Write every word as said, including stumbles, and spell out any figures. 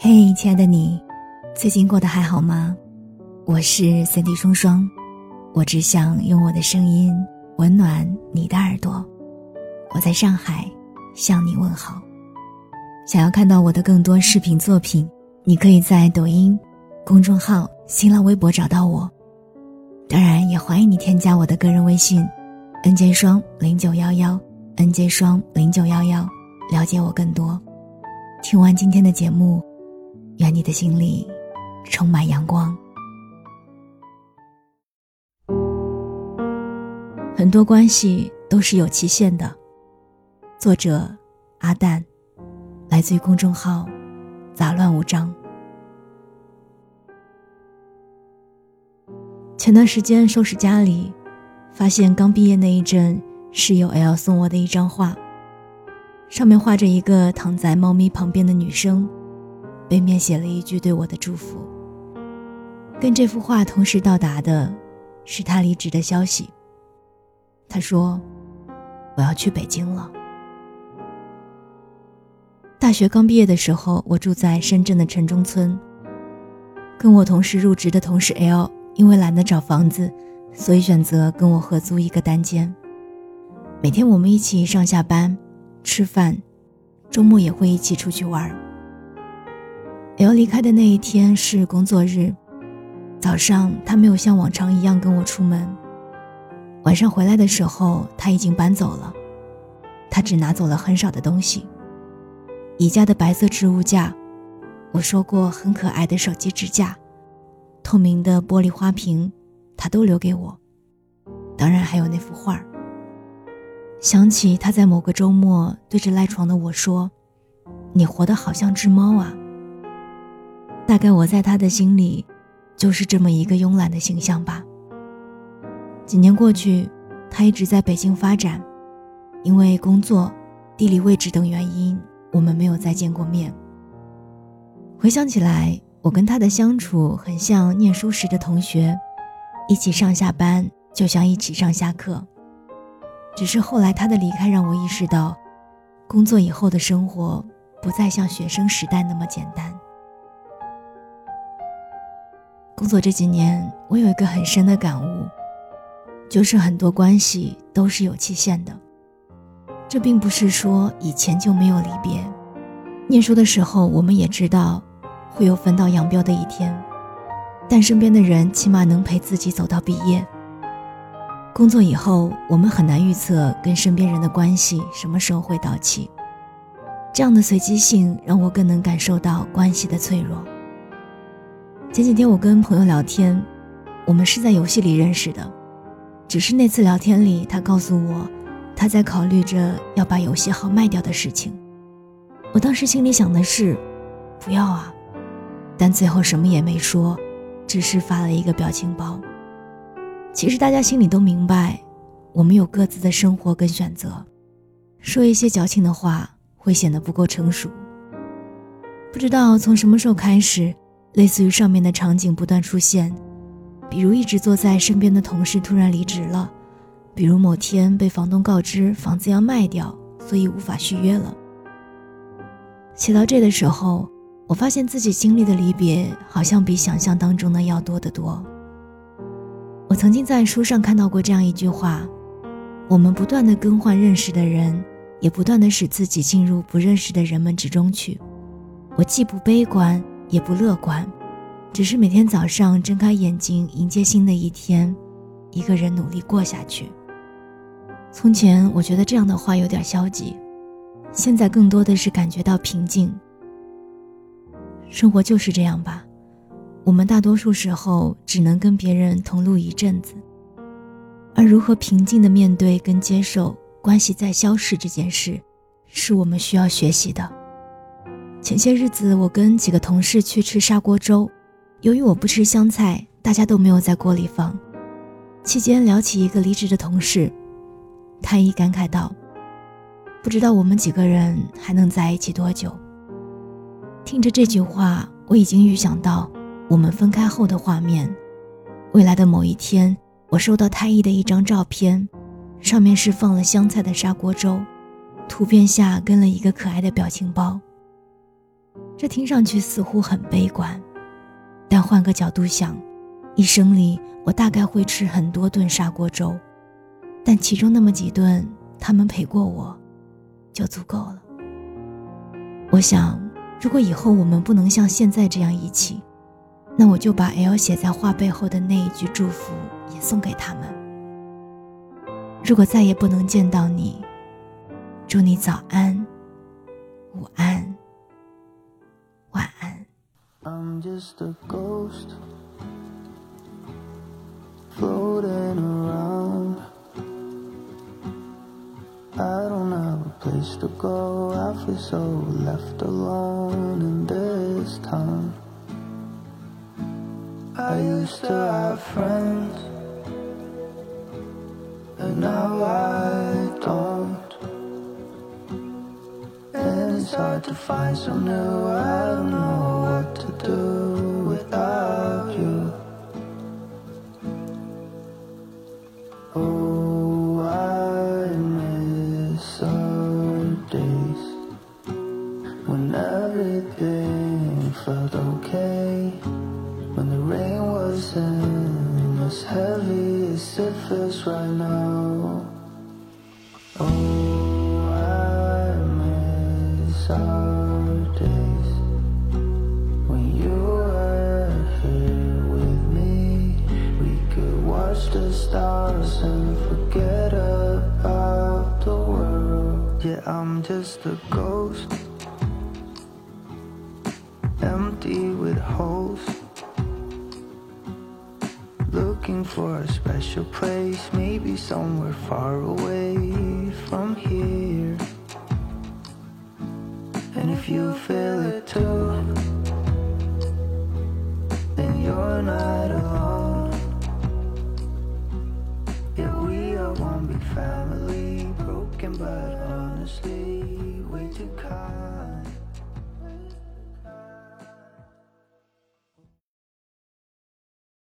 嘿，亲爱的你，最近过得还好吗？我是三 D 双双，我只想用我的声音温暖你的耳朵。我在上海向你问好。想要看到我的更多视频作品，你可以在抖音、公众号、新浪微博找到我。当然也欢迎你添加我的个人微信 N J 双零九一一 N J 双零九一一，了解我更多。听完今天的节目，愿你的心里充满阳光。很多关系都是有期限的。作者阿蛋，来自于公众号杂乱无章。前段时间收拾家里，发现刚毕业那一阵室友 L 送我的一张画，上面画着一个躺在猫咪旁边的女生，背面写了一句对我的祝福。跟这幅画同时到达的是他离职的消息。他说，我要去北京了。大学刚毕业的时候，我住在深圳的城中村，跟我同时入职的同事 L 因为懒得找房子，所以选择跟我合租一个单间。每天我们一起上下班吃饭，周末也会一起出去玩。L 离开的那一天是工作日，早上他没有像往常一样跟我出门，晚上回来的时候他已经搬走了。他只拿走了很少的东西，宜家的白色置物架，我说过很可爱的手机支架，透明的玻璃花瓶，他都留给我。当然还有那幅画。想起他在某个周末对着赖床的我说，你活得好像只猫啊。大概我在他的心里就是这么一个慵懒的形象吧。几年过去，他一直在北京发展，因为工作、地理位置等原因，我们没有再见过面。回想起来，我跟他的相处很像念书时的同学，一起上下班就像一起上下课。只是后来他的离开让我意识到，工作以后的生活不再像学生时代那么简单。工作这几年，我有一个很深的感悟，就是很多关系都是有期限的。这并不是说以前就没有离别，念书的时候我们也知道会有分道扬镳的一天，但身边的人起码能陪自己走到毕业。工作以后，我们很难预测跟身边人的关系什么时候会到期，这样的随机性让我更能感受到关系的脆弱。前几天我跟朋友聊天，我们是在游戏里认识的，只是那次聊天里他告诉我他在考虑着要把游戏号卖掉的事情。我当时心里想的是不要啊，但最后什么也没说，只是发了一个表情包。其实大家心里都明白，我们有各自的生活跟选择，说一些矫情的话会显得不够成熟。不知道从什么时候开始，类似于上面的场景不断出现，比如一直坐在身边的同事突然离职了，比如某天被房东告知房子要卖掉，所以无法续约了。写到这的时候，我发现自己经历的离别好像比想象当中的要多得多。我曾经在书上看到过这样一句话，我们不断地更换认识的人，也不断地使自己进入不认识的人们之中去。我既不悲观也不乐观，只是每天早上睁开眼睛迎接新的一天，一个人努力过下去。从前我觉得这样的话有点消极，现在更多的是感觉到平静。生活就是这样吧，我们大多数时候只能跟别人同路一阵子，而如何平静地面对跟接受关系在消逝这件事，是我们需要学习的。前些日子我跟几个同事去吃砂锅粥，由于我不吃香菜，大家都没有在锅里放。期间聊起一个离职的同事，他一感慨道，不知道我们几个人还能在一起多久。听着这句话，我已经预想到我们分开后的画面。未来的某一天，我收到太医的一张照片，上面是放了香菜的砂锅粥，图片下跟了一个可爱的表情包。 这听上去似乎很悲观，但换个角度想，一生里我大概会吃很多顿砂锅粥，但其中那么几顿他们陪过我就足够了。我想如果以后我们不能像现在这样一起，那我就把 L 写在画背后的那一句祝福也送给他们。如果再也不能见到你，祝你早安、午安、晚安。 I'm just a ghost floating around. I don't have a place to go. I feel so left alone in this town. I used to have friends, and now I don't. And it's hard to find some new. I don't know what to do without you. Oh, I miss our days when everything felt okay, when the rain wasn't as heavy as it feels right now. Oh, I miss our days when you were here with me. We could watch the stars and forget about the world. Yeah, I'm just a ghost, empty with holes, looking for a special place, maybe somewhere far away from here. And if you feel it too, then you're not alone. Yeah, we are one big family, broken but honestly way too kind.